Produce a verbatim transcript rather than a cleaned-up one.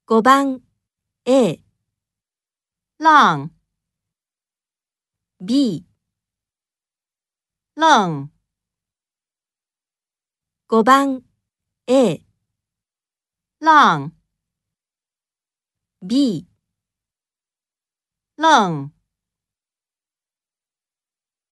ごばん A、 浪、 B、 愣、 ごばん A、 浪、 B、 愣。